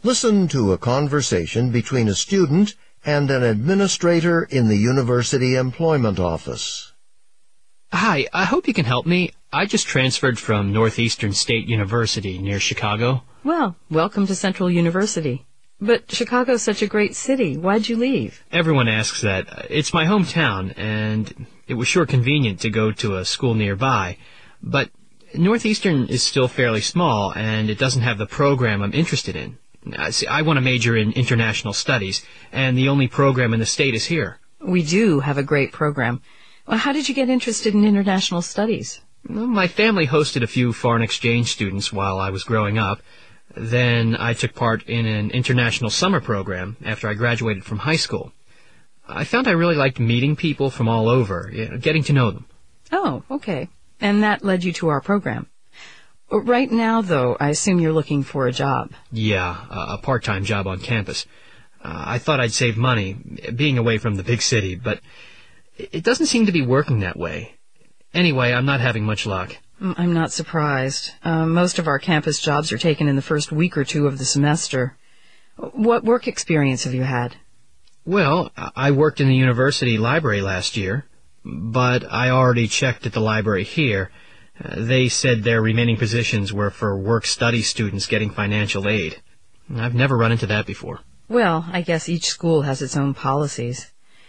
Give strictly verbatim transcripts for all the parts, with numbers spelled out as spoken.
Listen to a conversation between a student and an administrator in the University Employment Office. Hi, I hope you can help me. I just transferred from Northeastern State University near Chicago. Well, welcome to Central University. But Chicago's such a great city. Why'd you leave? Everyone asks that. It's my hometown, and it was sure convenient to go to a school nearby. But Northeastern is still fairly small, and it doesn't have the program I'm interested in. Uh, see, I want to major in international studies, and the only program in the state is here. We do have a great program. Well, how did you get interested in international studies? Well, my family hosted a few foreign exchange students while I was growing up. Then I took part in an international summer program after I graduated from high school. I found I really liked meeting people from all over, you know, getting to know them. Oh, okay. And that led you to our program. Right now, though, I assume you're looking for a job. Yeah, a part-time job on campus. Uh, I thought I'd save money, being away from the big city, but it doesn't seem to be working that way. Anyway, I'm not having much luck. I'm not surprised. Uh, most of our campus jobs are taken in the first week or two of the semester. What work experience have you had? Well, I worked in the university library last year, but I already checked at the library here. Uh, they said their remaining positions were for work-study students getting financial aid. I've never run into that before. Well, I guess each school has its own policies.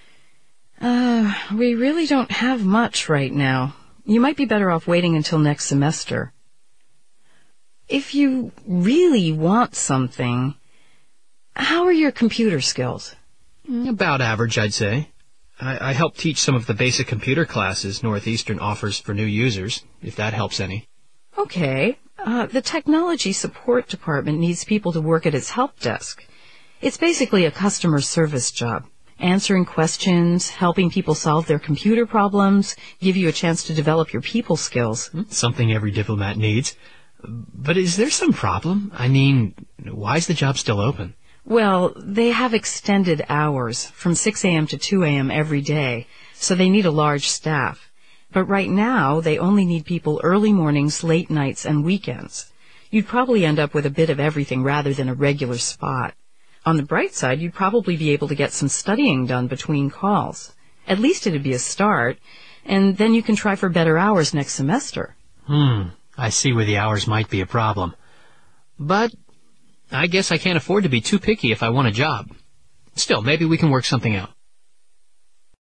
Uh, we really don't have much right now. You might be better off waiting until next semester. If you really want something, how are your computer skills? About average, I'd say. I, I help teach some of the basic computer classes Northeastern offers for new users, if that helps any. Okay. Uh, the technology support department needs people to work at its help desk. It's basically a customer service job. Answering questions, helping people solve their computer problems, give you a chance to develop your people skills. Something every diplomat needs. But is there some problem? I mean, why is the job still open? Well, they have extended hours from six a.m. to two a.m. every day, so they need a large staff. But right now, they only need people early mornings, late nights, and weekends. You'd probably end up with a bit of everything rather than a regular spot. On the bright side, you'd probably be able to get some studying done between calls. At least it'd be a start, and then you can try for better hours next semester. Hmm, I see where the hours might be a problem. But I guess I can't afford to be too picky if I want a job. Still, maybe we can work something out.